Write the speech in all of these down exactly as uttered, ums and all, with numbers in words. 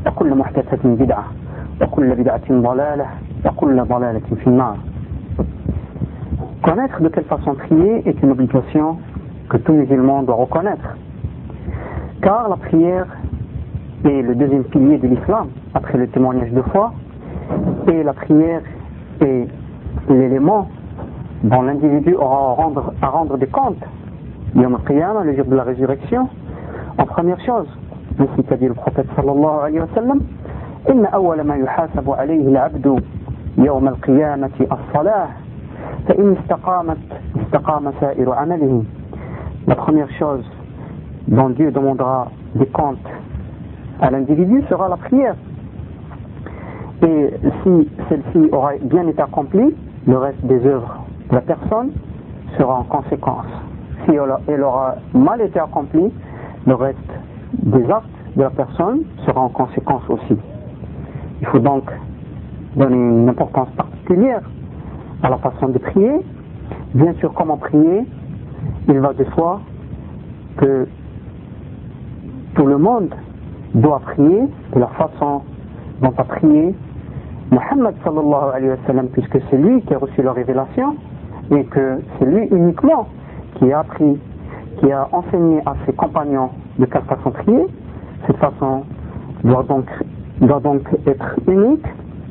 وكل محدثة بدعة وكل بدعة ضلالة وكل ضلالة في النار. Connaître de quelle façon prier est une obligation que tout musulman doit reconnaître, car la prière est le deuxième pilier de l'islam après le témoignage de foi, et la prière est l'élément dont l'individu aura à rendre, à rendre des comptes Yom al-Qiyamah, le jour de la résurrection. En première chose, ainsi qu'a dit le prophète sallallahu alayhi wa sallam, إن أول ما يحاسب عليه العبد يوم القيامة الصلاة فإن استقامت استقام سائر عمله. La première chose dont Dieu demandera des comptes à l'individu sera la prière. Et si celle-ci aura bien été accomplie, le reste des œuvres de la personne sera en conséquence. Si elle aura mal été accomplie, le reste des actes de la personne sera en conséquence aussi. Il faut donc donner une importance particulière à la façon de prier. Bien sûr, comment prier, il va de soi que tout le monde doit prier de la façon dont a prié Muhammad sallallahu alayhi wa sallam, puisque c'est lui qui a reçu la révélation et que c'est lui uniquement qui a appris, qui a enseigné à ses compagnons de quelle façon prier. Cette façon doit donc, doit donc être unique.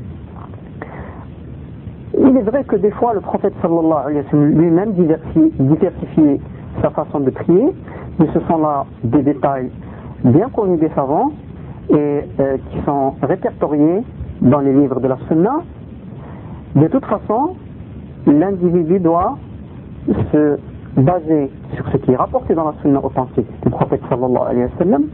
Il est vrai que des fois le prophète sallallahu alayhi wa sallam lui-même diversifiait sa façon de prier, mais ce sont là des détails bien connus des savants et euh, qui sont répertoriés dans les livres de la Sunna. De toute façon, l'individu doit se baser sur ce qui est rapporté dans la Sunna authentique du prophète sallallahu alayhi wa sallam.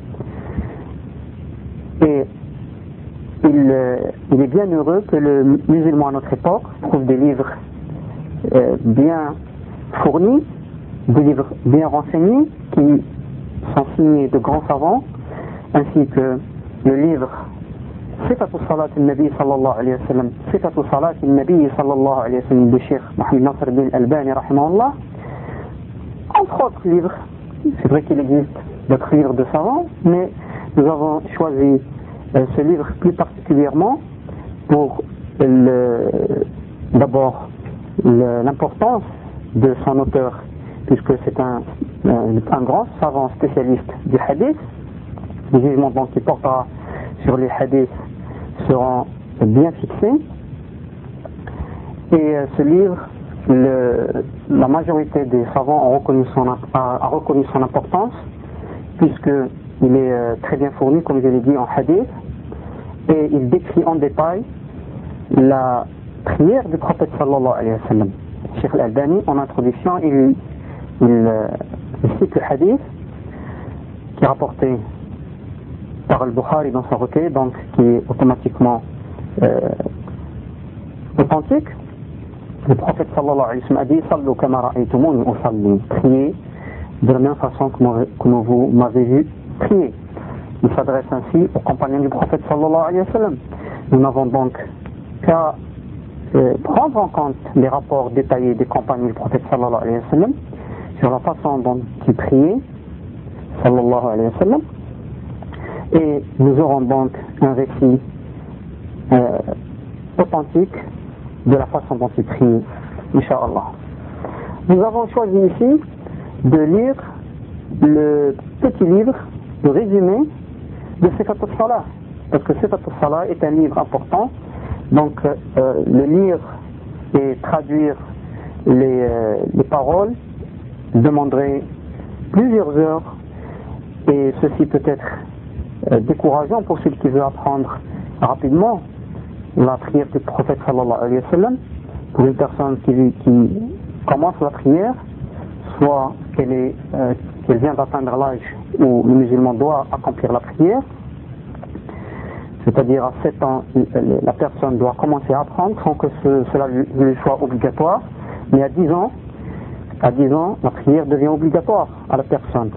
Et il, euh, il est bien heureux que le musulman à notre époque trouve des livres euh, bien fournis, des livres bien renseignés qui sont signés de grands savants, ainsi que le livre Sifatu Salat al-Nabi sallallahu alayhi wa sallam, Sifatu Salat al-Nabi sallallahu alayhi wa sallam de Cheikh Mohamed Nasr bin Albani rahimahullah, entre autres livres. C'est vrai qu'il existe d'autres livres de savants, mais nous avons choisi euh, ce livre plus particulièrement pour le, d'abord le, l'importance de son auteur, puisque c'est un, un, un grand savant spécialiste du hadith. Les jugements donc qui portera sur les hadiths seront bien fixés. Et euh, ce livre, le, la majorité des savants ont reconnu son, a, a reconnu son importance, puisqu'il est euh, très bien fourni, comme je l'ai dit, en hadith, et il décrit en détail la prière du prophète sallallahu alayhi wa sallam. Cheikh Al-Albani, en introduction, il, il, euh, il cite le hadith qui est rapporté par Al-Bukhari dans son recueil, donc qui est automatiquement euh, authentique. Le prophète sallallahu alayhi wa sallam a dit Sallu kama ra'aytumuni usalli, priez de la même façon que vous m'avez vu prier. Il s'adresse ainsi aux compagnons du prophète sallallahu alayhi wa sallam. Nous n'avons donc qu'à euh, prendre en compte les rapports détaillés des compagnons du prophète sallallahu alayhi wa sallam sur la façon dont ils priaient sallallahu alayhi wa sallam, et nous aurons donc un récit euh, authentique de la façon dont ils prient, Inch'Allah. Nous avons choisi ici de lire le petit livre, le résumé de Sifat al-Salah, parce que Sifat al-Salah est un livre important, donc euh, le lire et traduire les, euh, les paroles demanderait plusieurs heures, et ceci peut être euh, décourageant pour celui qui veut apprendre rapidement la prière du prophète sallallahu alayhi wa sallam. Pour une personne qui, qui commence la prière, soit qu'elle, est, euh, qu'elle vient d'atteindre l'âge où le musulman doit accomplir la prière, c'est-à-dire à sept ans, la personne doit commencer à apprendre sans que ce, cela lui soit obligatoire, mais à dix ans, à dix ans, la prière devient obligatoire à la personne.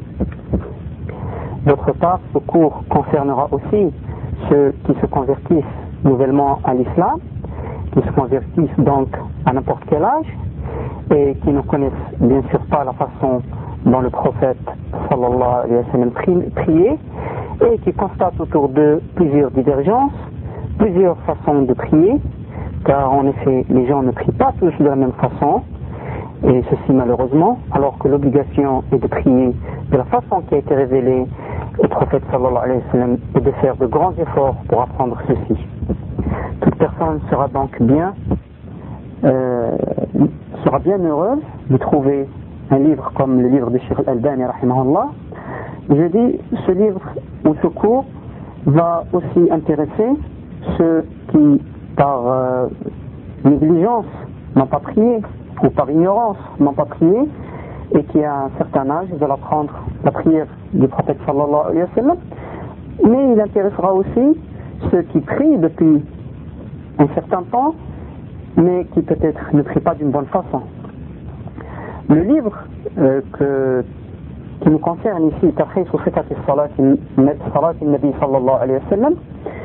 D'autre part, ce cours concernera aussi ceux qui se convertissent nouvellement à l'islam, qui se convertissent donc à n'importe quel âge et qui ne connaissent bien sûr pas la façon dont le prophète sallallahu alayhi wa sallam priait, et qui constate autour d'eux plusieurs divergences, plusieurs façons de prier, car en effet les gens ne prient pas tous de la même façon, et ceci malheureusement, alors que l'obligation est de prier de la façon qui a été révélée au prophète sallallahu alayhi wa sallam et de faire de grands efforts pour apprendre ceci. Toute personne sera donc bien, euh, sera bien heureuse de trouver un livre comme le livre de Cheikh Al-Albani rahimahullah. Je dis, ce livre ou ce cours va aussi intéresser ceux qui par euh, négligence n'ont pas prié, ou par ignorance n'ont pas prié, et qui à un certain âge veulent apprendre la prière du prophète sallallahu alayhi wa sallam. Mais il intéressera aussi ceux qui prient depuis un certain temps, mais qui peut-être ne prient pas d'une bonne façon. Le livre euh, que, qui nous concerne ici, Tarhis ou Fiqh as-Salat al-Nabi sallallahu alayhi wa sallam,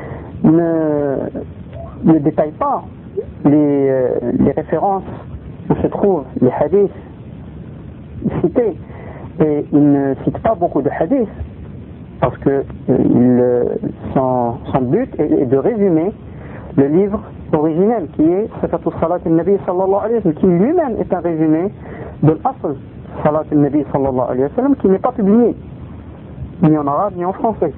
ne, ne détaille pas les, euh, les références où se trouvent les hadiths cités, et il ne cite pas beaucoup de hadiths parce que euh, son, son but est, est de résumer le livre originel qui est Sifatu Salat al-Nabi sallallahu alayhi wa sallam, qui lui-même est un résumé de l'Asl Salat al-Nabi sallallahu alayhi wa sallam, qui n'est pas publié ni en arabe ni en français.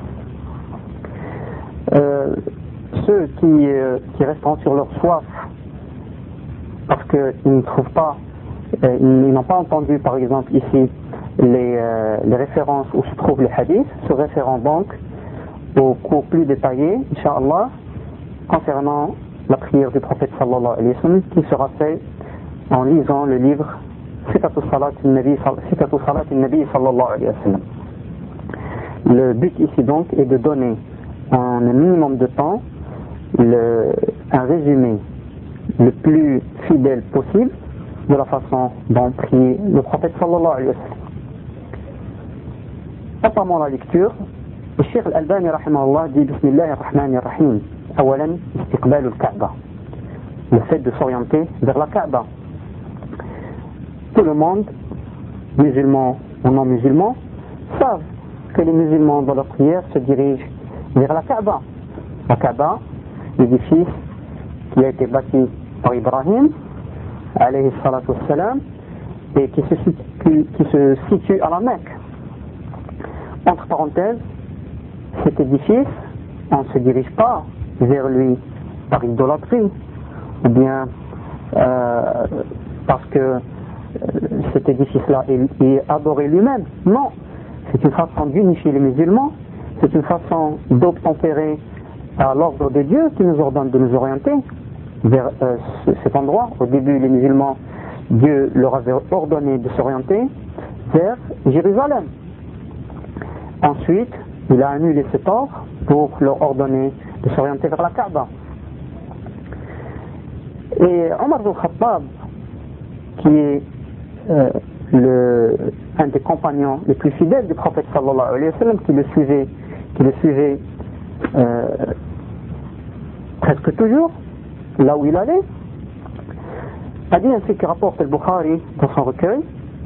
Euh, ceux qui, euh, qui resteront sur leur soif parce qu'ils ne trouvent pas, euh, ils n'ont pas entendu par exemple ici les, euh, les références où se trouvent les hadiths, se référant donc au cours plus détaillé, Inch'Allah, concernant la prière du prophète sallallahu alayhi wa sallam, qui sera fait en lisant le livre Sifatu Salat al-Nabi sallallahu alayhi wa sallam. Le but ici donc est de donner en un minimum de temps le, un résumé le plus fidèle possible de la façon dont priait le prophète sallallahu alayhi wa sallam. Apparemment la lecture, le Cheikh Al-Albani rahimahullah dit Bismillah ar-Rahman ar-Rahim. Awalan, istiqbal al-Kaaba. Le fait de s'orienter vers la Kaaba. Tout le monde, musulmans ou non musulmans, savent que les musulmans dans leur prière se dirigent vers la Kaaba. La Kaaba, l'édifice qui a été bâti par Ibrahim, alayhi salatu wassalam, et qui se situe, qui se situe à la Mecque. Entre parenthèses, cet édifice, on ne se dirige pas vers lui par idolâtrie, ou bien euh, parce que euh, cet édifice-là est, est adoré lui-même. Non, c'est une façon d'unifier les musulmans, c'est une façon d'obtempérer à l'ordre de Dieu qui nous ordonne de nous orienter vers euh, cet endroit. Au début, les musulmans, Dieu leur avait ordonné de s'orienter vers Jérusalem. Ensuite, il a annulé cet ordre pour leur ordonner de s'orienter vers la Kaaba. Et Omar ibn Khattab, qui est euh, le, un des compagnons les plus fidèles du prophète sallallahu alayhi wa sallam, qui le suivait, qui le suivait euh, presque toujours, là où il allait, a dit ainsi que rapporte al-Bukhari dans son recueil,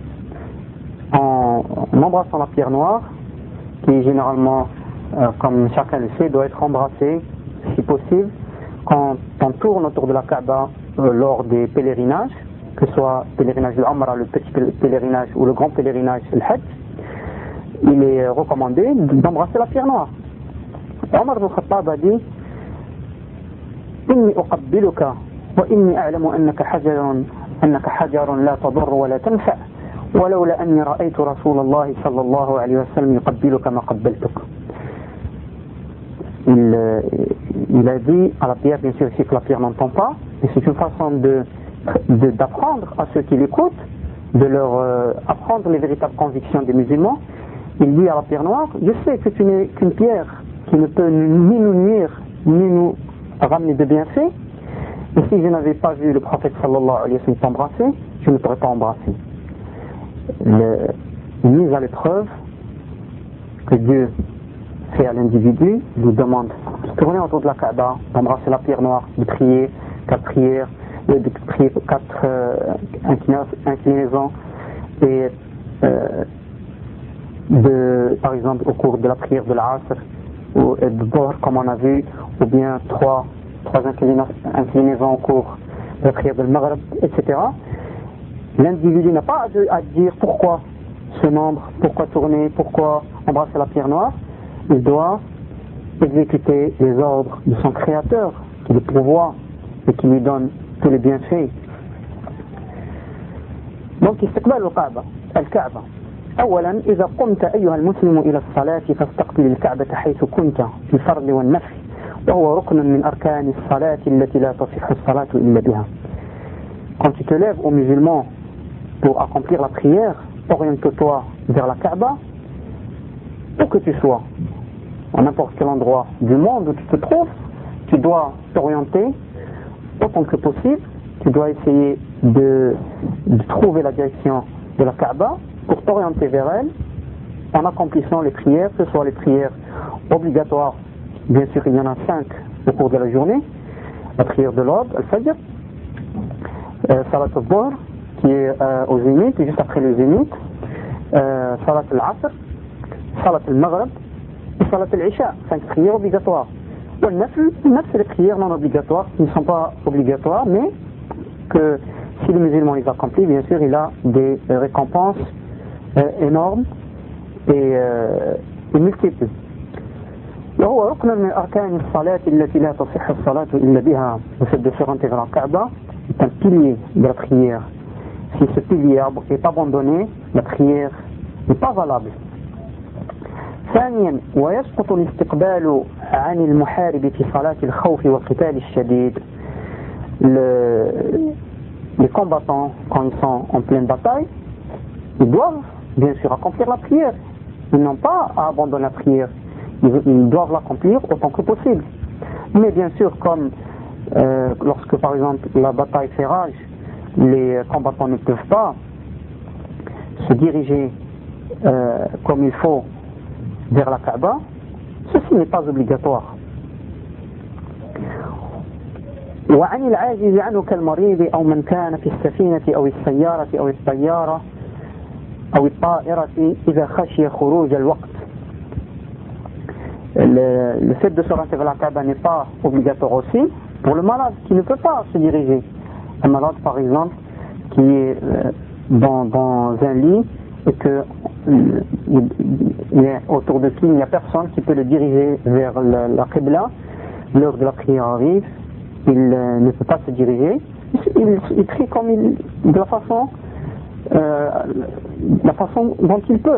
en, en embrassant la pierre noire, qui généralement, euh, comme chacun le sait, doit être embrassée, si possible, quand on tourne autour de la Kaaba euh, lors des pèlerinages, que ce soit le pèlerinage de l'Umrah, le petit pèlerinage ou le grand pèlerinage, le Hajj, il est recommandé d'embrasser la pierre noire. Omar ibn Khattab a dit إني أقبلك وإني أعلم أنك حجر أنك حجر لا تضر ولا تنفع ولولا أني رأيت رسول الله صلى الله عليه وسلم يقبلك ما قبلتك. Il, il a dit à la pierre, bien sûr, ici que la pierre n'entend pas, et c'est une façon de, de, d'apprendre à ceux qui l'écoutent, de leur euh, apprendre les véritables convictions des musulmans. Il dit à la pierre noire, je sais que tu n'es qu'une pierre qui ne peut ni nous nuire, ni nous ramener de bienfaits, et si je n'avais pas vu le prophète sallallahu alayhi wa sallam t'embrasser, je ne pourrais pas embrasser. Le, une mise à l'épreuve que Dieu fait à l'individu, lui demande de tourner autour de la Kaaba, d'embrasser la pierre noire, de prier quatre prières, de prier quatre euh, inclinaisons et euh, de, par exemple au cours de la prière de l'Asr ou de Dhuhr comme on a vu, ou bien trois, trois inclinaisons au cours de la prière de Maghrib, et cetera. L'individu n'a pas à dire pourquoi ce nombre, pourquoi tourner, pourquoi embrasser la pierre noire. Il doit exécuter les ordres de son créateur qui le pourvoit et qui lui donne tous les bienfaits. Donc استقبال الكعبة الكعبة أولا إذا قمت أيها المسلم إلى الصلاة فاستقبل الكعبة حيث كنت في الفرض والنفل وهو ركن من أركان الصلاة التي لا تصح الصلاة إلا بها. Quand tu te lèves aux musulmans pour accomplir la prière, oriente-toi vers la Kaaba, où que tu sois, à n'importe quel endroit du monde où tu te trouves, tu dois t'orienter autant que possible, tu dois essayer de, de trouver la direction de la Kaaba pour t'orienter vers elle en accomplissant les prières, que ce soit les prières obligatoires, bien sûr il y en a cinq au cours de la journée, la prière de l'aube, al-Fajr, euh, Salat al-Dhuhr, qui est euh, au zénith, juste après le zénith, euh, Salat al-Asr, Salat al-Maghrib et Salat al-Isha, cinq prières obligatoires. Le nafl, c'est les prières non obligatoires qui ne sont pas obligatoires, mais que si le musulman les accomplit, bien sûr, il a des récompenses euh, énormes et, euh, et multiples. وهو ركن من أركان الصلاة التي لا تصح الصلاة إلا بها. Le fait de se rendre vers la Kaaba est un pilier de la prière. Si ce pilier est abandonné, la prière n'est pas valable. ثانيا ويسقط الاستقبال عن المحارب في صلاة الخوف والقتال الشديد. Le, les combattants, quand ils sont en pleine bataille, ils doivent bien sûr accomplir la prière. Ils n'ont pas à abandonner la prière. Ils, ils doivent l'accomplir autant que possible. Mais bien sûr, comme euh, lorsque par exemple la bataille fait rage, les combattants ne peuvent pas se diriger euh, comme il faut vers la Kaaba, ceci n'est pas obligatoire. وعن العاجز عنه كالمريض أو من كان في السفينة أو السيارة أو الطيارة أو الطائرة إذا خشي خروج الوقت. Le, le fait de se rendre vers la Kaaba n'est pas obligatoire aussi pour le malade qui ne peut pas se diriger. Un malade par exemple qui est dans, dans un lit et que il, il est autour de qui il n'y a personne qui peut le diriger vers la, la Qibla, l'heure de la prière arrive, il euh, ne peut pas se diriger, il, il prie comme il, de la façon, euh, la façon dont il peut.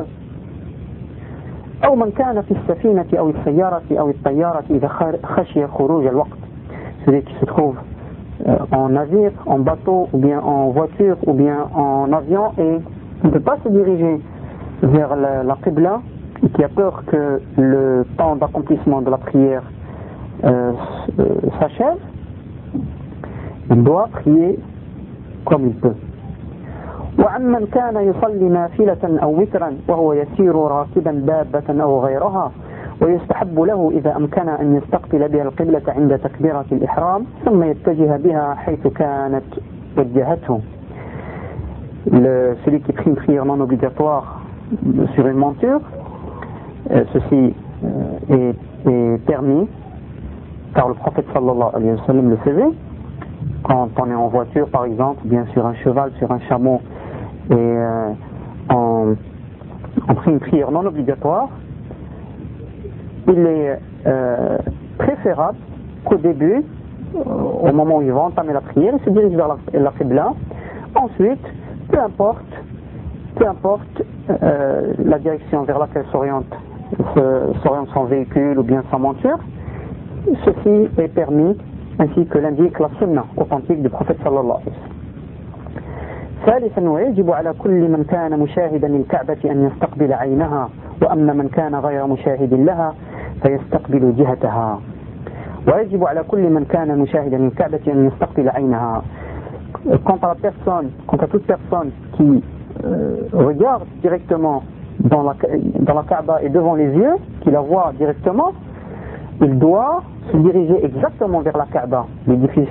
أو من كان في السفينة أو السيارة أو الطيارة إذا خشي خروج الوقت. Celui qui se trouve euh, en navire, en bateau, ou bien en voiture, ou bien en avion et il ne peut pas se diriger vers la, la Qibla et qui a peur que le temps d'accomplissement de la prière euh, s'achève, il doit prier comme il peut. وعمن كان يصلي نافلة أو وترا وهو يسير راكبا دابة أو غيرها ويستحب له إذا أمكن أن يستقبل بها القبلة عند تكبيرة الإحرام ثم يتجه بها حيث كانت وجهته. Le, celui qui prie une prière non obligatoire sur une monture, euh, ceci euh, est, est permis car le prophète sallallahu alayhi wa sallam le faisait quand on est en voiture par exemple, bien sur un cheval, sur un chameau et euh, on, on prie une prière non obligatoire. Il est euh, préférable qu'au début, au moment où il va entamer la prière, il se dirige vers la, la Qibla. Ensuite, peu importe, peu importe euh, la direction vers laquelle s'oriente, s'oriente son véhicule ou bien sa monture, ceci est permis ainsi que l'indique la sunna authentique du prophète sallallahu alayhi wa sallam. ثالثا ويجب على كل من كان مشاهدا للكعبة أن يستقبل عينها وأما من كان غير مشاهد لها فيستقبل جهتها. ويجب على كل من كان مشاهدا للكعبة أن يستقبل عينها. Quant à la personne, quant à toute personne qui euh, regarde directement dans la, dans la Kaaba et devant les yeux, qui la voit directement, il doit se diriger exactement vers la Kaaba, l'édifice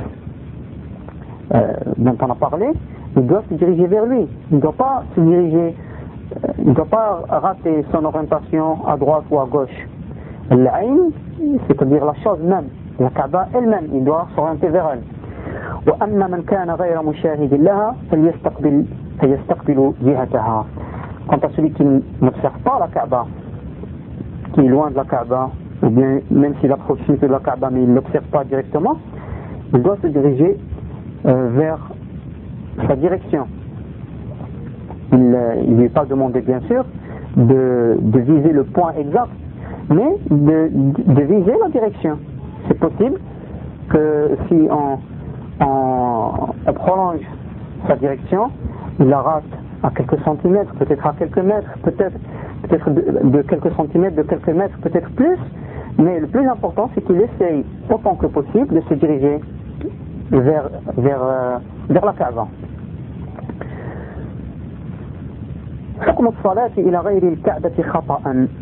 euh, dont on a parlé, il doit se diriger vers lui. Il ne doit pas se diriger il ne doit pas rater son orientation à droite ou à gauche. L'ayn, c'est-à-dire la chose même, la Kaaba elle-même, il doit s'orienter vers elle. وأما من كان غير مشاهد لها فليستقبل فيستقبل جهتها. Quant à celui qui n'observe pas la Kaaba, qui est loin de la Kaaba, ou bien même s'il approche de la Kaaba mais il ne l'observe pas directement, il doit se diriger euh, vers sa direction. Il ne lui est pas demandé bien sûr de, de viser le point exact, mais de, de viser la direction. C'est possible que si on, on, on prolonge sa direction, il la rate à quelques centimètres, peut-être à quelques mètres, peut-être, peut-être de, de quelques centimètres, de quelques mètres, peut-être plus, mais le plus important c'est qu'il essaye autant que possible de se diriger vers, vers, euh, vers la Kaaba. حكم الصلاة إلى غير الكعبة خطأ.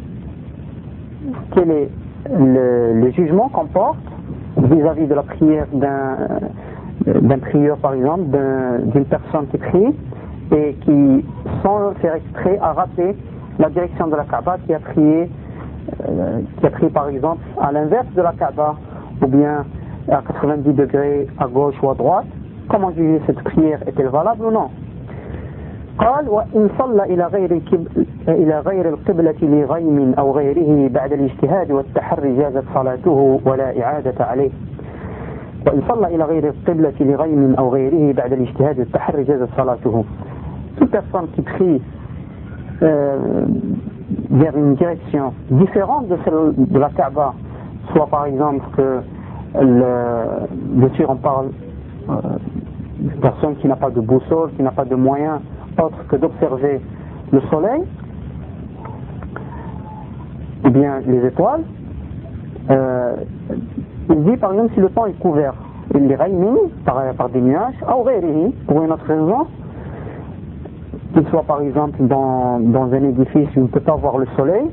Quel est le, le jugement qu'on porte vis-à-vis de la prière d'un, d'un prieur par exemple, d'un, d'une personne qui prie et qui, sans faire exprès, a raté la direction de la Kaaba, qui a prié, euh, qui a prié par exemple à l'inverse de la Kaaba, ou bien à quatre-vingt-dix degrés à gauche ou à droite. Comment juger cette prière? Est-elle valable ou non? قال وإن صلى إلى غير إلى غير القبلة لغيم أو غيره بعد الاجتهاد والتحري جازت صلاته ولا إعادة عليه. وإن صلى إلى غير القبلة لغيم أو غيره بعد الاجتهاد والتحري جازت صلاته. Toute personne qui prie euh, vers une direction différente de celle de la Kaaba, soit par exemple que le, bien sûr on parle euh, d'une personne qui n'a pas de boussole, qui n'a pas de moyens autre que d'observer le soleil ou bien les étoiles, euh, il dit par exemple si le temps est couvert, il les raymin par, par des nuages, ou pour une autre raison, qu'il soit par exemple dans, dans un édifice où il ne peut pas voir le soleil,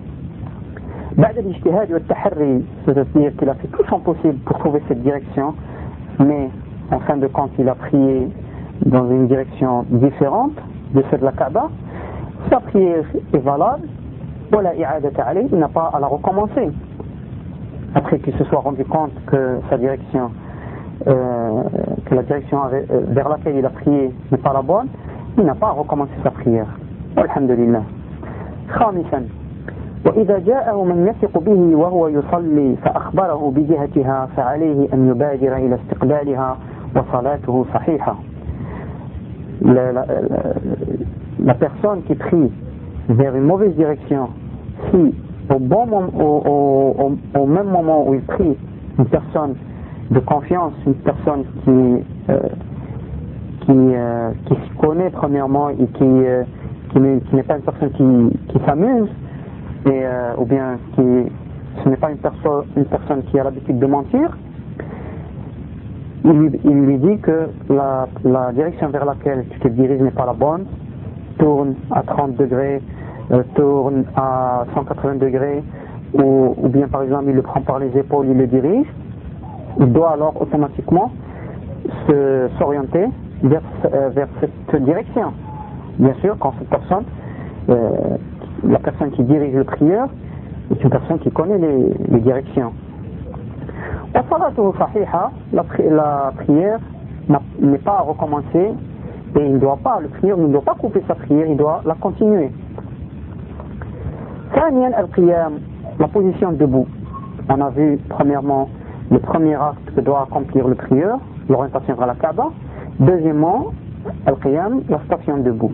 c'est-à-dire qu'il a fait tout son possible pour trouver cette direction, mais en fin de compte il a prié dans une direction différente de celle de la Kaaba, sa prière est valable, il n'a pas à la recommencer. Après qu'il se soit rendu compte que sa direction, euh, que la direction vers laquelle il a prié n'est pas la bonne, il n'a pas à recommencer sa prière. Alhamdulillah. خامسا وإذا جاءه من يثق به وهو يصلي فأخبره بجهتها فعليه أن يبادر إلى استقبالها وصلاته صحيحة. La, la, la personne qui prie vers une mauvaise direction, si au, bon moment, au, au, au même moment où il prie, une personne de confiance, une personne qui, euh, qui, euh, qui se connaît premièrement et qui, euh, qui, n'est, qui n'est pas une personne qui, qui s'amuse, et, euh, ou bien qui, ce n'est pas une, perso- une personne qui a l'habitude de mentir, Il lui, il lui dit que la, la direction vers laquelle tu te diriges n'est pas la bonne, tourne à trente degrés, euh, tourne à cent quatre-vingts degrés, ou, ou bien par exemple il le prend par les épaules, il le dirige, il doit alors automatiquement se, s'orienter vers, euh, vers cette direction. Bien sûr, quand cette personne, euh, la personne qui dirige le prieur, est une personne qui connaît les, les directions. La prière n'est pas à recommencer et il ne doit pas, le prieur ne doit pas couper sa prière, il doit la continuer. La position debout. On a vu premièrement le premier acte que doit accomplir le prieur, l'orientation vers la Kaaba. Deuxièmement, al-qiyam, la station debout.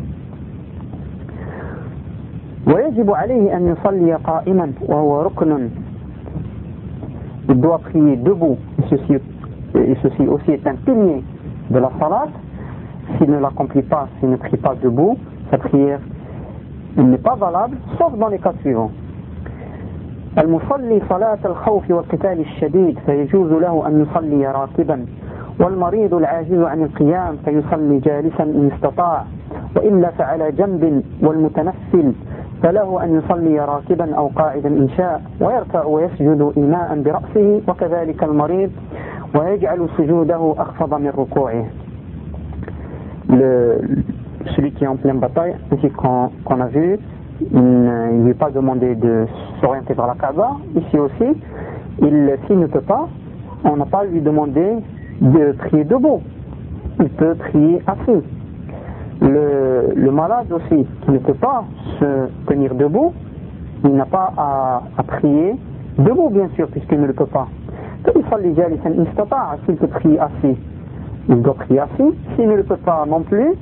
ويجب عليه أن يصلي قائما وهو ركن. Il doit prier debout, et ceci, et ceci aussi est un pilier de la salat. S'il ne l'accomplit pas, s'il ne prie pas debout, sa prière n'est pas valable, sauf dans les cas suivants. المصلي صلاة الخوف والقتال الشديد فيجوز له أن يصلي راكبا والمريض العاجز عن القيام فيصلي جالسا إن استطاع وإلا فعلى جنب والمتنفل فله أن يصلي راكبا أو قاعدا إن شاء ويركع ويسجد إيماء برأسه وكذلك المريض ويجعل سجوده أخفض من ركوعه. Le, celui qui est en pleine bataille, ainsi qu'on, qu'on a vu, il ne lui est pas demandé de s'orienter vers la Kaaba. Ici aussi, il, s'il ne peut pas, on n'a pas lui demandé de prier debout. Il peut prier assis. Le, le malade aussi, qui ne peut pas se tenir debout, il n'a pas à, à prier debout, bien sûr, puisqu'il ne le peut pas. S'il peut prier assis, il doit prier assis. S'il ne le peut pas non plus,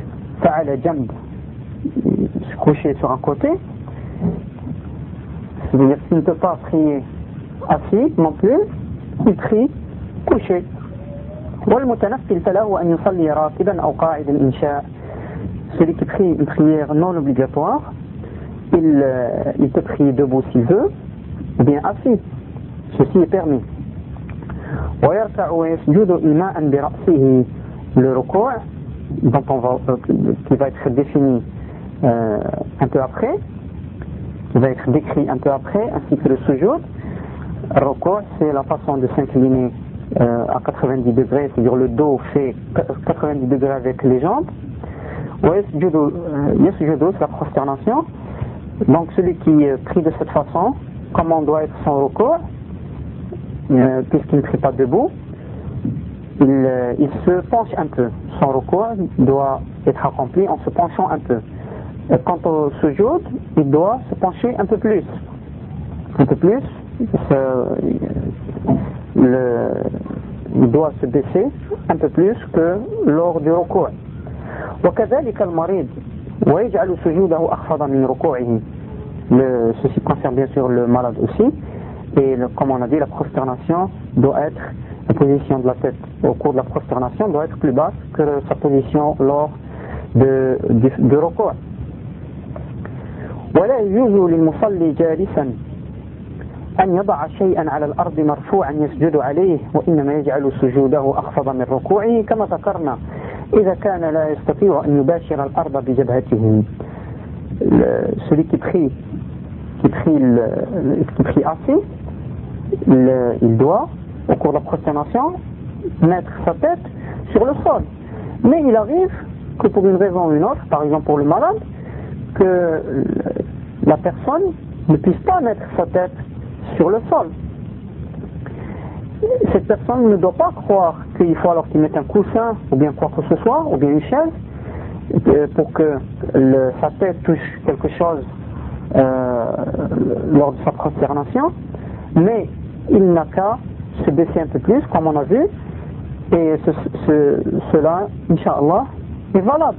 se coucher sur un côté. C'est-à-dire s'il ne peut pas prier assis non plus, il prie couché. Celui qui prie une prière non obligatoire, il, il peut prier debout s'il veut, ou bien assis. Ceci est permis. Le recours, dont on va, euh, qui va être défini euh, un peu après, qui va être décrit un peu après, ainsi que le sujoud. Le recours, c'est la façon de s'incliner euh, à quatre-vingt-dix degrés, c'est-à-dire le dos fait quatre-vingt-dix degrés avec les jambes. Yasjudu, c'est la prosternation. Donc celui qui prie de cette façon, comment doit être son recours, euh, puisqu'il ne prie pas debout, il, euh, il se penche un peu. Son recours doit être accompli en se penchant un peu. Et quant au sujoud, il doit se pencher un peu plus. Un peu plus. Ce, le, il doit se baisser un peu plus que lors du recours. وكذلك المريض ويجعل سجوده أخفض من ركوعه. Ceci concerne bien sûr le malade aussi. Et le, comme on a dit, la prosternation doit être, la position de la tête au cours de la prosternation doit être plus basse que sa position lors de, du, du recours. ولا يجوز للمصلي جالسا أن يضع شيئا على الأرض مرفوعا يسجد عليه وإنما يجعل سجوده أخفض من ركوعه كما ذكرنا إذا كان لا يستطيع أن يباشر الأرض بجبهته. Celui qui prie, qui prie, le, qui prie assis, le, il doit, au cours de la prosternation, mettre sa tête sur le sol. Mais il arrive que pour une raison ou une autre, par exemple pour le malade, que la personne ne puisse pas mettre sa tête sur le sol. Cette personne ne doit pas croire qu'il faut alors qu'il mette un coussin ou bien quoi que ce soit, ou bien une chaise, pour que le, sa tête touche quelque chose euh, lors de sa prosternation, mais il n'a qu'à se baisser un peu plus, comme on a vu, et ce, ce, cela, Inch'Allah, est valable.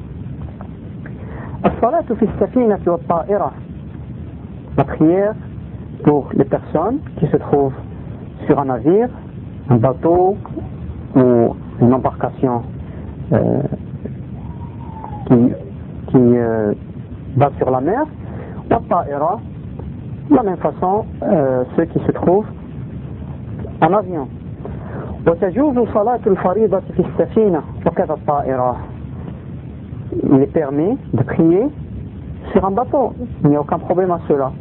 La prière pour les personnes qui se trouvent sur un navire, un bateau ou une embarcation euh, qui, qui euh, va sur la mer, de la même façon euh, ceux qui se trouvent en avion. Il est permis de prier sur un bateau, il n'y a aucun problème à cela.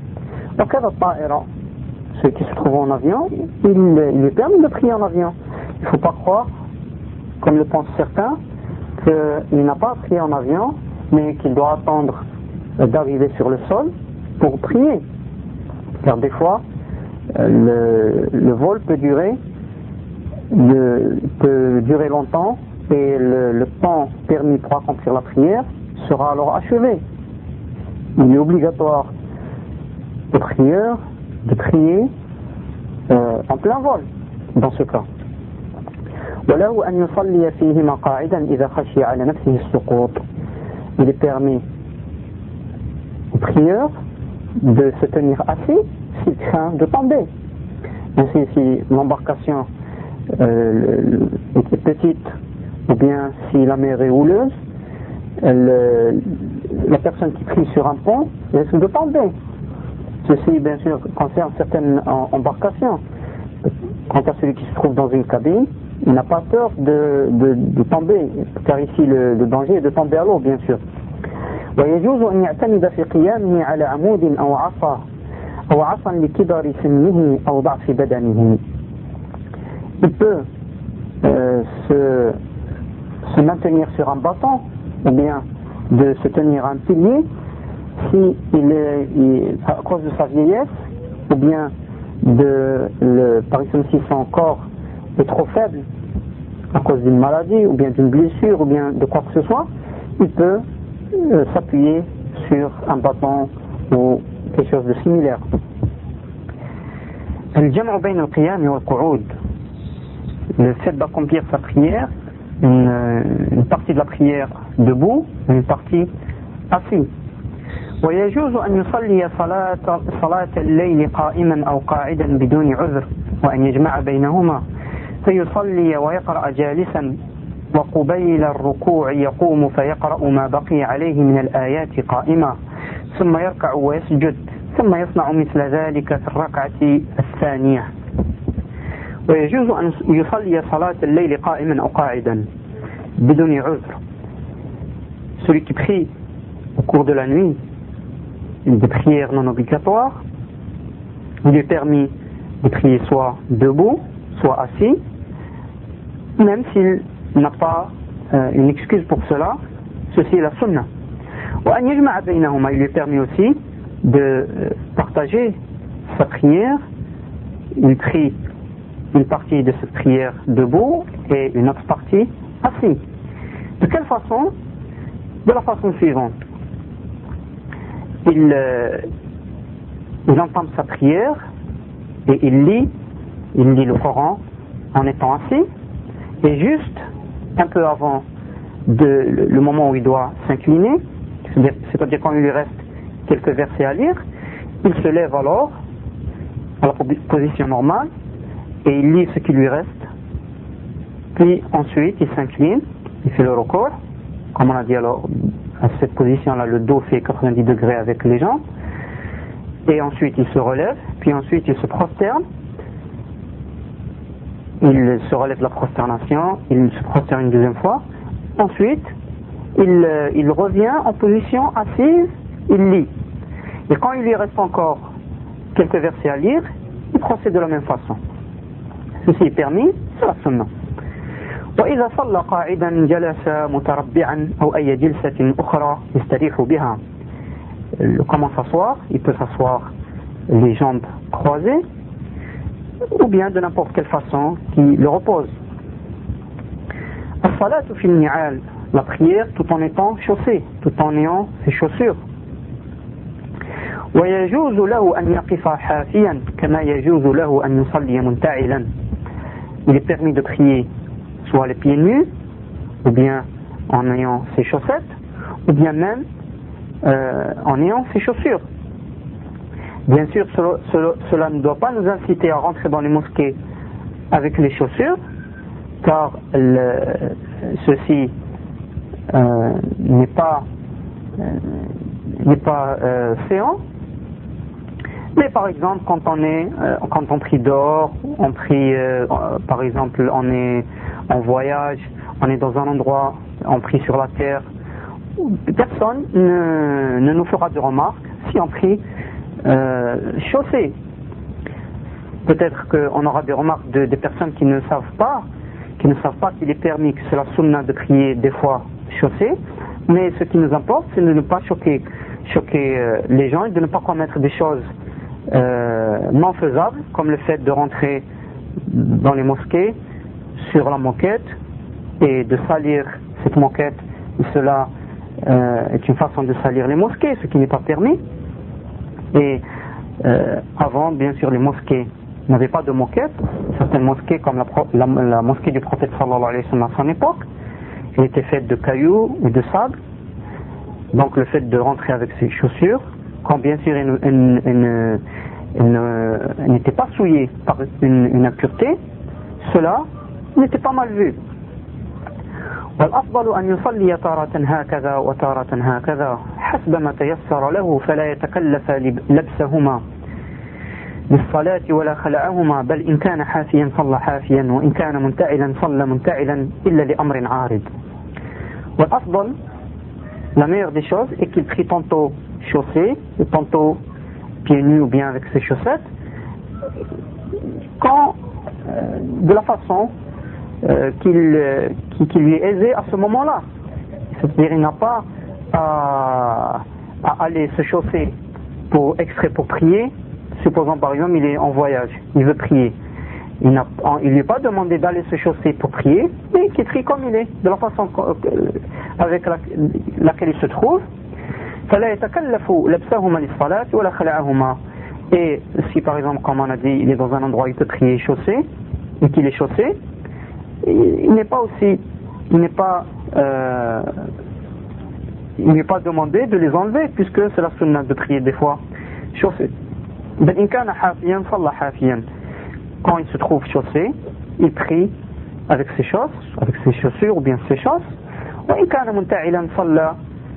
Ceux qui se trouvent en avion, il, il est permis de prier en avion. Il ne faut pas croire, comme le pensent certains, qu'il n'a pas prié en avion, mais qu'il doit attendre d'arriver sur le sol pour prier. Car des fois, le, le vol peut durer, le, peut durer longtemps et le, le temps permis pour accomplir la prière sera alors achevé. Il est obligatoire au prieur de prier euh, en plein vol dans ce cas. Il est permis au prieur de se tenir assis s'il craint de tomber. Ainsi, si l'embarcation euh, est petite ou bien si la mer est houleuse, le, la personne qui prie sur un pont risque de tomber. Ceci, bien sûr, concerne certaines embarcations. Quant à celui qui se trouve dans une cabine, il n'a pas peur de, de, de tomber, car ici le, le danger est de tomber à l'eau, bien sûr. ويجوز أن يعتمد في قيامه على عمود أو عصا أو عصا لكبر سنه أو ضعف بدنه. Il peut euh, se, se maintenir sur un bâton ou bien de se tenir à un pilier, si il est, il, à cause de sa vieillesse, ou bien de, le, par exemple si son corps est trop faible à cause d'une maladie, ou bien d'une blessure, ou bien de quoi que ce soit, il peut euh, s'appuyer sur un bâton ou quelque chose de similaire. الجمع بين القيام والقعود, le fait d'accomplir sa prière, une, une partie de la prière debout, une partie assis. ويجوز أن يصلي صلاة صلاة الليل قائما أو قاعدا بدون عذر وأن يجمع بينهما فيصلي ويقرأ جالسا وقبيل الركوع يقوم فيقرأ ما بقي عليه من الآيات قائما ثم يركع ويسجد ثم يصنع مثل ذلك في الركعة الثانية. ويجوز أن يصلي صلاة الليل قائما أو قاعدا بدون عذر. Celui qui prie au cours de la nuit des prières non obligatoires, il est permis de prier soit debout, soit assis, même s'il n'a pas euh, une excuse pour cela. Ceci est la sunna. Il lui est permis aussi de partager sa prière. Il prie une partie de cette prière debout et une autre partie assis. De quelle façon? De la façon suivante. Il, euh, il entame sa prière et il lit, il lit le Coran en étant assis, et juste un peu avant de, le, le moment où il doit s'incliner, c'est-à-dire, c'est-à-dire quand il lui reste quelques versets à lire, il se lève alors à la position normale et il lit ce qui lui reste, puis ensuite il s'incline, il fait le recours, comme on a dit. Alors à cette position-là, le dos fait quatre-vingt-dix degrés avec les jambes, et ensuite il se relève, puis ensuite il se prosterne, il se relève de la prosternation, il se prosterne une deuxième fois, ensuite il, il revient en position assise, il lit, et quand il lui reste encore quelques versets à lire, il procède de la même façon. Ceci est permis, c'est la sunna. وإذا صلى قاعدا جلس متربعا أو أي جلسة أخرى يستريح بها. Comment s'asseoir? Il peut s'asseoir les jambes croisées, ou bien de n'importe quelle façon qui le repose. الصلاة في النعال, la prière tout en étant chaussé, tout en ayant ses chaussures. ويجوز له أن يقف حافيا كما يجوز له أن يصلي منتعلا. Il est permis de prier soit les pieds nus, ou bien en ayant ses chaussettes, ou bien même euh, en ayant ses chaussures. Bien sûr, cela, cela, cela ne doit pas nous inciter à rentrer dans les mosquées avec les chaussures, car le, ceci euh, n'est pas, euh, n'est pas euh, séant. Mais par exemple, quand on est, euh, quand on prie dehors, on prie, euh, par exemple, on est en voyage, on est dans un endroit, on prie sur la terre, personne ne, ne nous fera de remarques si on prie euh, chaussé. Peut-être qu'on aura des remarques de, des personnes qui ne savent pas, qui ne savent pas qu'il est permis, que c'est la sunna de prier des fois chaussé, mais ce qui nous importe, c'est de ne pas choquer, choquer euh, les gens et de ne pas commettre des choses Euh, non faisable, comme le fait de rentrer dans les mosquées sur la moquette et de salir cette moquette. Et cela euh, est une façon de salir les mosquées, ce qui n'est pas permis. Et euh, avant, bien sûr, les mosquées n'avaient pas de moquette. Certaines mosquées, comme la, la, la mosquée du prophète sallallahu alayhi wa sallam à son époque, elle était faite de cailloux ou de sable. Donc le fait de rentrer avec ses chaussures, quand bien sûr elle, elle, elle, elle, elle n'était pas souillée par une, une impureté, cela n'était pas mal vu. والأفضل أن يصلي تارة هكذا وتارة هكذا حسب ما تيسر له فلا يتكلف لبسهما بالصلاة ولا خلعهما بل إن كان حافيا صلى حافيا وإن كان منتعلا صلى منتعلا إلا لأمر عارض. والأفضل, la meilleure des choses est qu'il prie tantôt chaussé et tantôt pieds nus ou bien avec ses chaussettes, quand euh, de la façon euh, qu'il, euh, qui, qui lui est aisée à ce moment-là. C'est-à-dire il n'a pas à, à aller se chausser pour extrait pour prier. Supposons par exemple il est en voyage, il veut prier. Il n'a il lui est pas demandé d'aller se chausser pour prier, mais qu'il prie comme il est, de la façon avec la, laquelle il se trouve. فلا يتكلف لبسهما للصلاة ولا خلعهما. Et si par exemple, comme on a dit, il est dans un endroit où il peut prier chaussé, et qu'il est chaussé, il n'est pas aussi, il n'est pas, euh, il n'est pas demandé de les enlever, puisque c'est la sunna de prier des fois chaussé. Quand il se trouve chaussé, il prie avec ses chausses, avec ses chaussures ou bien ses chausses. وإن كان منتعلا صلى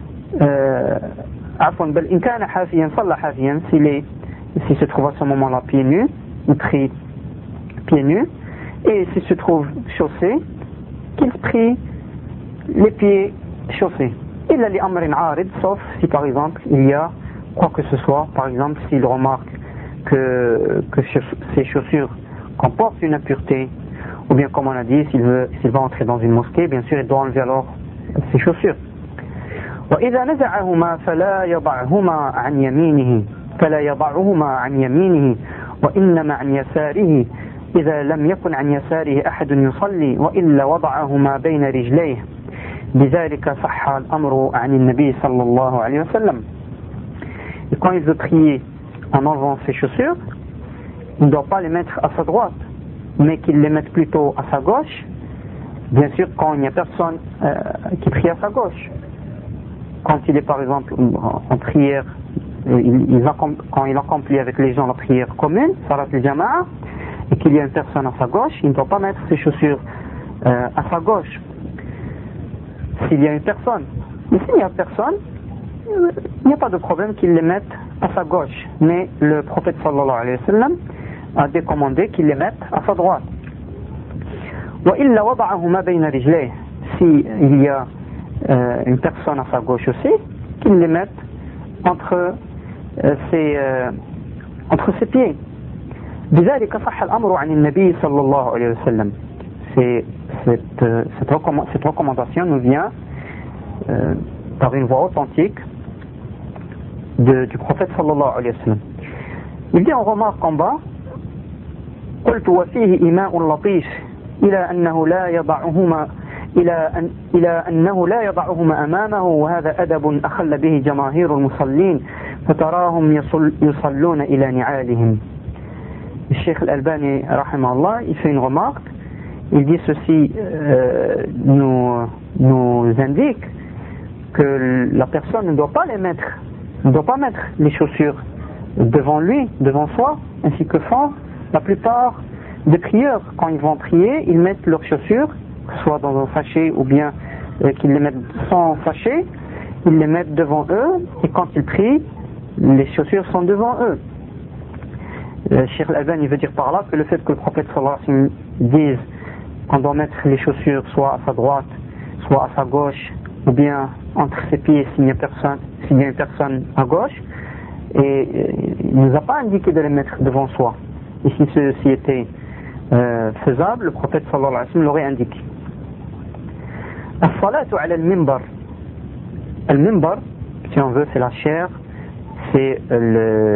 عفوا بل إن كان حافيا صلى حافيا. S'il est, s'il se trouve à ce moment-là pieds nus, il prie pieds nus. Et s'il se trouve chaussé, qu'il prie les pieds chaussés. إلا لأمر عارض, sauf si par exemple il y a quoi que ce soit, par exemple s'il remarque que, que ses chaussures comportent une impureté, ou bien comme on a dit, s'il, veut, s'il va entrer dans une mosquée, bien sûr il doit enlever alors ses chaussures. وإذا نزعهما فلا يضعهما عن يمينه فلا يضعهما عن يمينه وإنما عن يساره إذا لم يكن عن يساره أحد يصلي وإلا وضعهما بين رجليه. بذلك صح الأمر عن النبي صلى الله عليه وسلم. Et quand il veut prier en enlevant ses chaussures, il ne doit pas les mettre à sa droite, mais qu'il les mette plutôt à sa gauche, bien sûr quand il n'y a personne euh, qui prie à sa gauche. Quand il est par exemple en prière, il, il accomplit, quand il accomplit avec les gens la prière commune, salat al-jama'a, et qu'il y a une personne à sa gauche, il ne doit pas mettre ses chaussures euh, à sa gauche. S'il y a une personne, mais s'il n'y a personne, il n'y a pas de problème qu'il les mette à sa gauche. Mais le prophète sallallahu alayhi wa sallam a décommandé qu'il les mette à sa droite. وإلا وضعهما بين رجليه. Si il y a euh, une personne à sa gauche aussi, qu'il les mette entre euh, ses euh, entre ses pieds. بذلك صح الأمر عن النبي صلى الله عليه وسلم. C'est cette, euh, cette, recommand, cette recommandation nous vient euh, par une voie authentique de, du prophète sallallahu alayhi wa sallam. Il dit, on remarque en bas, قلت وفيه إيماء لطيف إلى أنه لا يضعهما إلى أن إلى أنه لا يضعهما أمامه وهذا أدب أخل به جماهير المصلين فتراهم يصل يصلون إلى نعالهم. Le Cheikh Al-Albani rahimahullah, il fait une remarque. Il dit ceci euh, nous, nous indique que la personne ne doit pas les mettre, ne doit pas mettre les chaussures devant lui, devant soi, ainsi que font la plupart des prieurs. Quand ils vont prier, ils mettent leurs chaussures, soit dans un sachet ou bien euh, qu'ils les mettent sans sachet, ils les mettent devant eux, et quand ils prient, les chaussures sont devant eux. Le Cheikh Al-Albani veut dire par là que le fait que le prophète sallallahu alayhi wa sallam dise qu'on doit mettre les chaussures soit à sa droite, soit à sa gauche, ou bien entre ses pieds s'il y a personne, s'il y a une personne à gauche, et il ne nous a pas indiqué de les mettre devant soi. Et si ceci était euh, faisable, le prophète sallallahu alayhi wa sallam l'aurait indiqué. As-salatu ala al-mimbar. Al-mimbar, si on veut, c'est la chair, c'est le,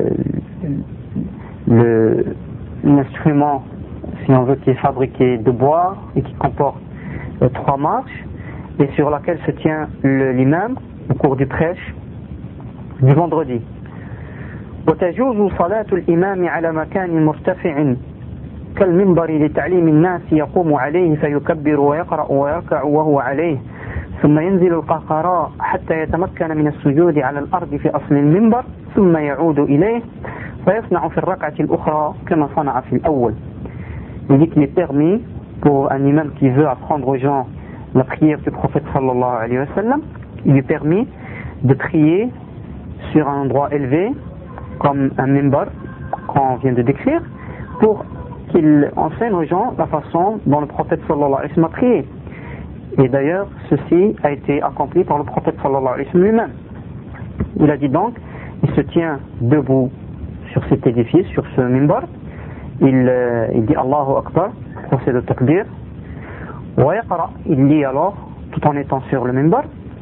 le, l'instrument, si on veut, qui est fabriqué de bois et qui comporte euh, trois marches et sur laquelle se tient le, l'imam au cours du prêche du vendredi. وتجوز صلاة الإمام على مكان مرتفع كالمنبر لتعليم الناس يقوم عليه فيكبر ويقرأ ويركع وهو عليه ثم ينزل القهقراء حتى يتمكن من السجود على الأرض في أصل المنبر ثم يعود إليه فيصنع في الركعة الأخرى كما صنع في الأول. Il dit qu'il est permis pour un imam qui veut apprendre aux gens la prière du prophète sallallahu alayhi wa sallam, il lui est permis de prier sur un endroit élevé comme un minbar qu'on vient de décrire, pour qu'il enseigne aux gens la façon dont le prophète sallallahu alayhi wa sallam a prié. Et d'ailleurs, ceci a été accompli par le prophète sallallahu alayhi wa sallam lui-même. Il a dit donc, il se tient debout sur cet édifice, sur ce minbar, il, euh, il dit Allahu Akbar, procède au takbir, wa yaqra, il lit alors, tout en étant sur le minbar,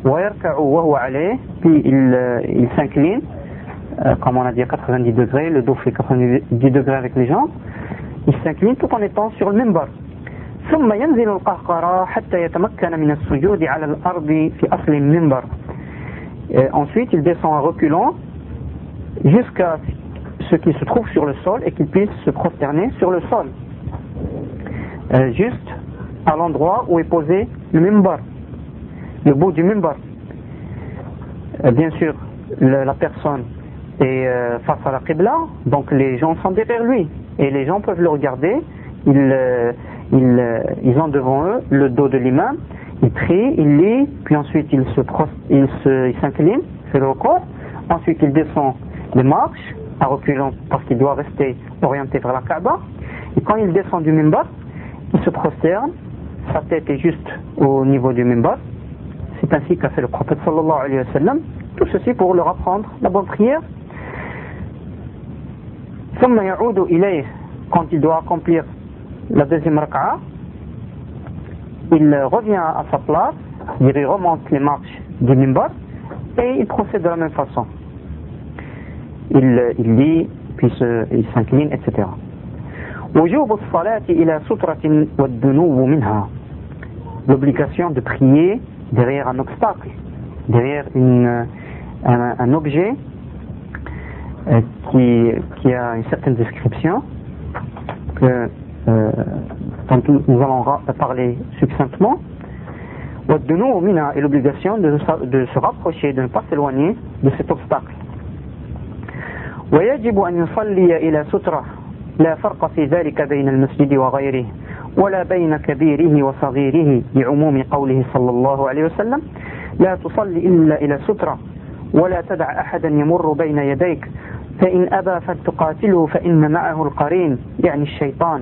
puis il, il s'incline, euh, comme on a dit à quatre-vingt-dix degrés, le dos fait quatre-vingt-dix degrés avec les jambes, il s'incline tout en étant sur le minbar. ثم ينزل القهقرى حتى يتمكن من السجود على الأرض في أصل المنبر. Ensuite, il descend en reculant jusqu'à ce qu'il se trouve sur le sol et qu'il puisse se prosterner sur le sol, euh, juste à l'endroit où est posé le minbar, le bout du minbar. Euh, bien sûr, le, la personne est euh, face à la Qibla, donc les gens sont derrière lui et les gens peuvent le regarder. Ils, euh, ils, euh, ils ont devant eux le dos de l'imam. Il prie, il lit, puis ensuite il se prost, il se, il s'incline, fait le recours. Ensuite il descend les marches à reculant parce qu'il doit rester orienté vers la Kaaba. Et quand il descend du minbar, il se prosterne, sa tête est juste au niveau du minbar. C'est ainsi qu'a fait le prophète sallallahu alayhi wa sallam. Tout ceci pour leur apprendre la bonne prière. ثم يعود إليه, quand il doit accomplir la deuxième raka'a, il revient à sa place, il remonte les marches du minbar et il procède de la même façon. Il, il lit, puis se, il s'incline, et cetera. L'obligation de prier derrière un obstacle, derrière une, un, un objet euh, qui, qui a une certaine description que Euh, dont nous allons parler succinctement. Et l'obligation de, de se rapprocher, de ne pas s'éloigner de cet obstacle. ويجب أن يصلي إلى سترة لا فرق في ذلك بين المسجد وغيره ولا بين كبيره وصغيره لعموم قوله صلى الله عليه وسلم لا تصلي إلا إلى سترة ولا تدع أحدا يمر بين يديك فإن أبى فلتقاتله فإن معه القرين يعني الشيطان.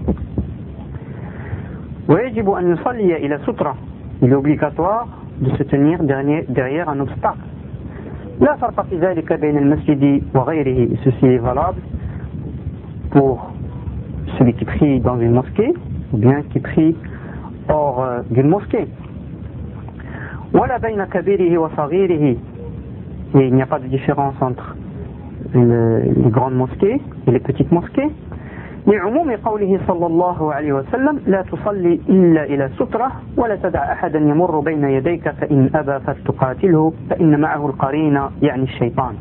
ويجب أن يصلي إلى سترة. Il est obligatoire de se tenir derrière un obstacle. لا فرق في ذلك بين المسجد وغيره. Ceci est valable pour celui qui prie dans une mosquée ou bien qui prie hors euh, d'une mosquée. ولا بين كبيره وصغيره. Et il n'y a pas de différence entre le, les grandes mosquées et les petites mosquées. لعموم قوله صلى الله عليه وسلم لا تصلي إلا إلى سترة ولا تدع أحدا يمر بين يديك فإن أبى فلتقاتله فإن معه القرين يعني الشيطان.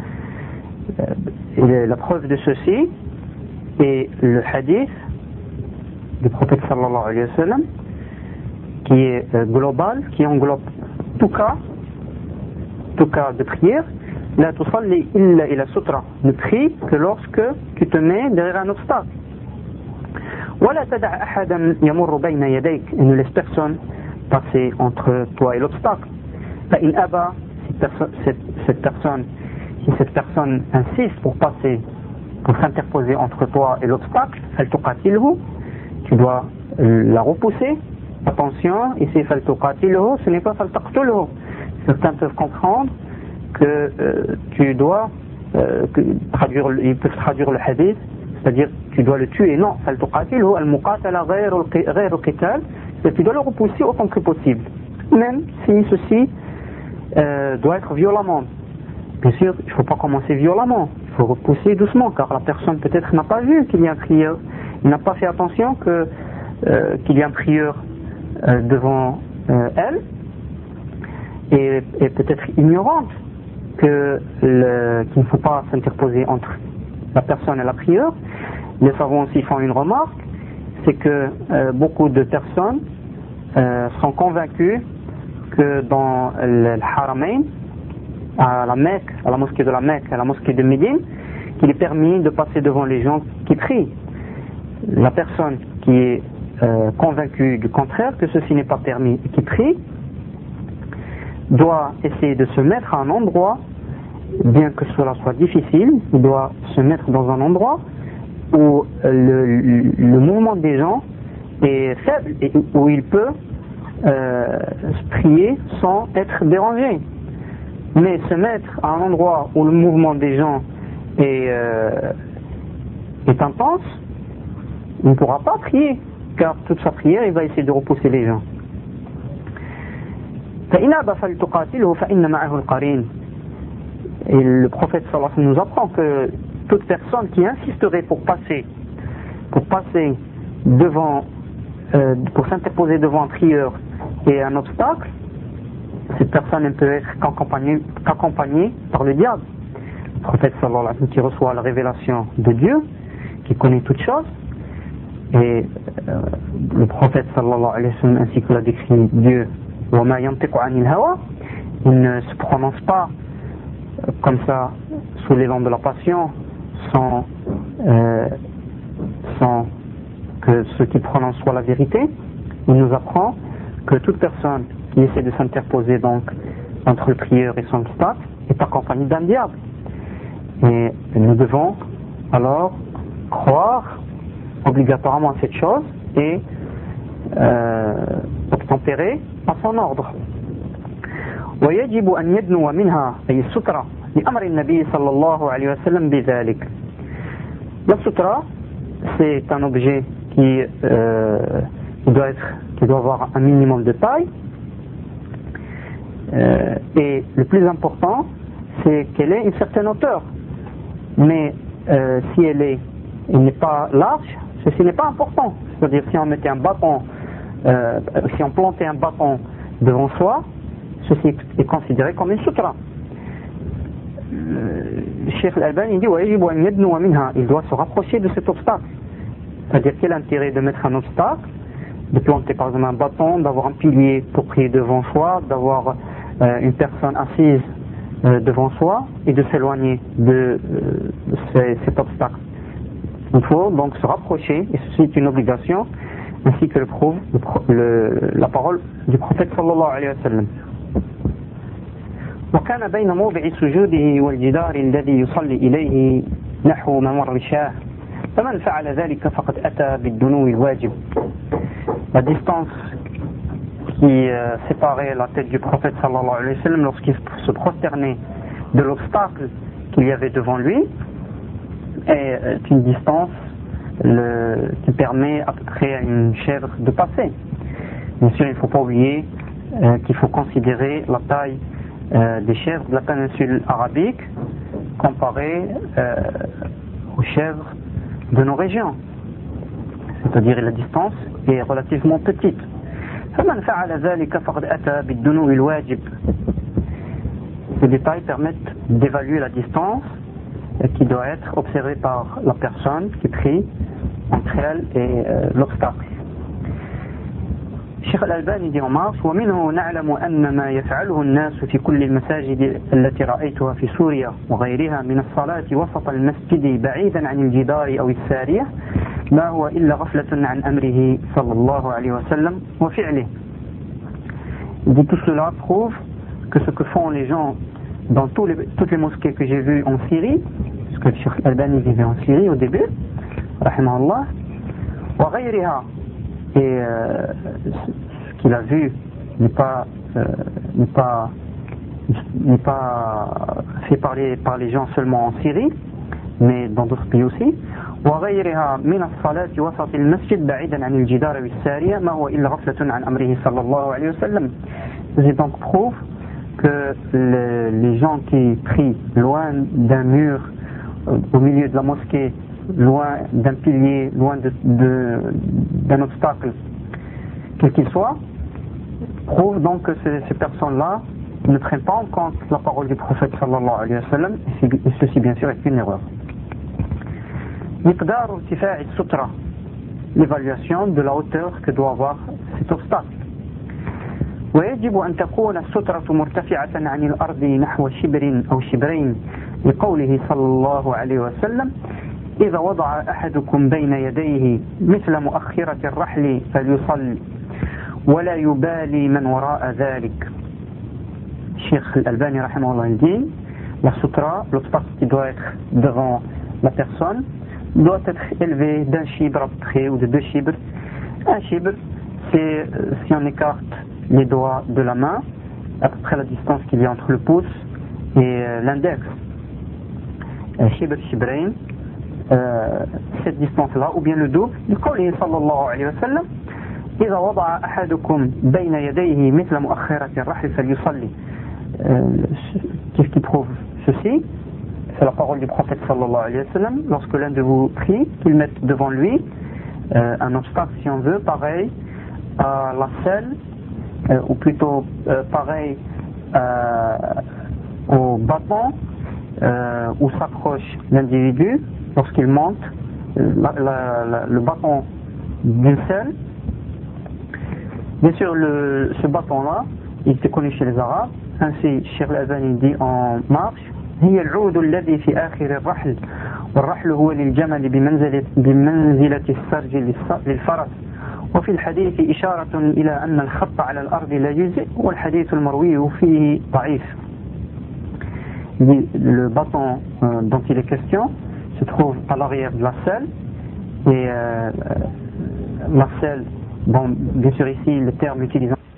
La preuve de ceci est le hadith du prophète sallallahu alayhi wa sallam qui est global, qui englobe tout cas, tout cas de prière. La tusalli illa ila sutra. Ne prie que lorsque tu te mets derrière un obstacle. Wala tad'a ahadan yamurru bayna yadayk. Et ne laisse personne passer entre toi et l'obstacle. Fa in aba, si cette, cette personne, si cette personne insiste pour passer, pour s'interposer entre toi et l'obstacle, fal tuqatilhu, tu dois la repousser. Attention, ici fal tuqatilhu, ce n'est pas fal taqtulhu. Certains peuvent comprendre que euh, tu dois euh, que, traduire, ils peuvent traduire le hadith, c'est-à-dire tu dois le tuer. Non, tu dois le repousser autant que possible, même si ceci euh, doit être violemment. Bien sûr, il ne faut pas commencer violemment, il faut repousser doucement, car la personne peut-être n'a pas vu qu'il y a un prieur, il n'a pas fait attention que, euh, qu'il y a un prieur euh, devant euh, elle, et, et peut-être ignorante que le, qu'il ne faut pas s'interposer entre la personne et la prieure. Les savants aussi font une remarque, c'est que euh, beaucoup de personnes euh, sont convaincus que dans le, le Haramain, à la Mecque, à la mosquée de la Mecque, à la mosquée de Médine, qu'il est permis de passer devant les gens qui prient. La personne qui est euh, convaincue du contraire, que ceci n'est pas permis et qui prie, doit essayer de se mettre à un endroit, bien que cela soit difficile, il doit se mettre dans un endroit où le, le, le mouvement des gens est faible et où il peut euh, prier sans être dérangé. Mais se mettre à un endroit où le mouvement des gens est, euh, est intense, il ne pourra pas prier, car toute sa prière, il va essayer de repousser les gens. فإن أبى فلتقاتله فإن معه القرين. Et le prophète sallallahu alayhi wa sallam nous apprend que toute personne qui insisterait pour passer, pour passer devant, euh, pour s'interposer devant un prieur et un obstacle, cette personne ne peut être qu'accompagnée, qu'accompagnée par le diable. Le prophète sallallahu alayhi wa sallam qui reçoit la révélation de Dieu, qui connaît toutes choses, et euh, le prophète sallallahu alayhi wa sallam ainsi que l'a décrit Dieu, wa ma yantiqu anil hawa, il ne se prononce pas comme ça sous l'élan de la passion, sans, euh, sans que ce qu'il prononce soit la vérité. Il nous apprend que toute personne qui essaie de s'interposer donc entre le prieur et son obstacle est accompagnée d'un diable. Et nous devons alors croire obligatoirement à cette chose et euh, obtempérer à son ordre. ويجب أن يدنو منها أي السترة لأمر النبي صلى الله عليه وسلم بذلك. La sutra, c'est un objet qui, euh, qui, doit être, qui doit avoir un minimum de taille, euh, et le plus important, c'est qu'elle ait une certaine hauteur. Mais euh, si elle est, elle n'est pas large, ceci n'est pas important. C'est-à-dire si on mettait un bâton, euh, si on plantait un bâton devant soi, ceci est considéré comme une sutra. Le Cheikh Al-Albani dit il doit se rapprocher de cet obstacle. C'est-à-dire quel intérêt de mettre un obstacle, de planter par exemple un bâton, d'avoir un pilier pour prier devant soi, d'avoir euh, une personne assise euh, devant soi et de s'éloigner de euh, ces, cet obstacle. Il faut donc se rapprocher, et ceci est une obligation, ainsi que le prouve le, le, la parole du prophète sallallahu alayhi wa sallam. وكان بين موضع سجوده والجدار الذي يصلي إليه نحو ممر شاه فمن فعل ذلك فقد أتى بالدنو الواجب. La distance qui euh, séparait la tête du prophète sallallahu alayhi wa sallam lorsqu'il se prosternait de l'obstacle qu'il y avait devant lui est une distance le, qui permet à peu près à une chèvre de passer. Bien sûr, il ne faut pas oublier euh, qu'il faut considérer la taille Euh, des chèvres de la péninsule arabique comparées euh, aux chèvres de nos régions, c'est-à-dire la distance est relativement petite. Ces détails permettent d'évaluer la distance qui doit être observée par la personne qui prie entre elle et euh, l'obstacle. الشيخ الألباني دي مارس ومنه نعلم أن ما يفعله الناس في كل المساجد التي رأيتها في سوريا وغيرها من الصلاة وسط المسجد بعيدا عن الجدار أو السارية ما هو إلا غفلة عن أمره صلى الله عليه وسلم وفعله. De tout cela prouve que ce que font les gens dans tous les, toutes les mosquées que j'ai vues en Syrie, parce que le Cheikh Al-Albani vivait en Syrie au début, rahimahullah, وغيرها, et euh, ce qu'il a vu n'est pas, euh, n'est pas, n'est pas fait parler par les gens seulement en Syrie, mais dans d'autres pays aussi. وغيرها من الصلاة وسط المسجد بعيدا عن الجدار والسارية ما هو إلا غفلة عن أمره صلى الله عليه وسلم. C'est donc prouve que le, les gens qui prient loin d'un mur, au milieu de la mosquée, loin d'un pilier, loin de, de, d'un obstacle, quel qu'il soit, prouve donc que ces, ces personnes-là ne prennent pas en compte la parole du prophète sallallahu alayhi wa sallam, et ceci bien sûr est une erreur. مقدار ارتفاع السترة, l'évaluation de la hauteur que doit avoir cet obstacle. ويجب أن تكون السترة مرتفعة عن الأرض نحو شبر أو شبرين لقوله صلى الله عليه وسلم إذا وضع أحدكم بين يديه مثل مؤخرة الرحل فليصل ولا يبالي من وراء ذلك. Cheikh Al-Albani rahimahullah dit, la sutra, l'obstacle qui doit être devant la personne, doit être élevé d'un chibre à peu près, ou de deux chibres. Un chibre, c'est si on écarte les doigts de la main, à peu près la distance qu'il y a entre le pouce et l'index. Chibr, chibrain, euh, cette distance-là, ou bien le double, du qawli sallallahu alayhi wa sallam, إذا وضع أحدكم بين يديه مثل مؤخرة الرحل فليصلي. Qu'est-ce qui prouve ceci? C'est la parole du prophète sallallahu alayhi wa sallam. Lorsque l'un de vous prie, qu'il mette devant lui euh, un obstacle, si on veut, pareil à la selle, euh, ou plutôt euh, pareil euh, au bâton euh, où s'accroche l'individu lorsqu'il monte euh, la, la, la, le bâton d'une selle. Bien sûr, le, ce bâton-là, il était connu chez les Arabes. Ainsi, Cheikh Al-Albani dit en marche: هي العود الذي في آخر الرحل والرحل هو للجمل بمنزلة بمنزلة السرج للفرس. وفي الحديث إشارة إلى أن الخط على الأرض لا يجزئ والحديث المروي فيه ضعيف. Le bâton euh, dont il est question se trouve à l'arrière de la selle, et euh, la selle, bon, bien sûr ici le terme utilisé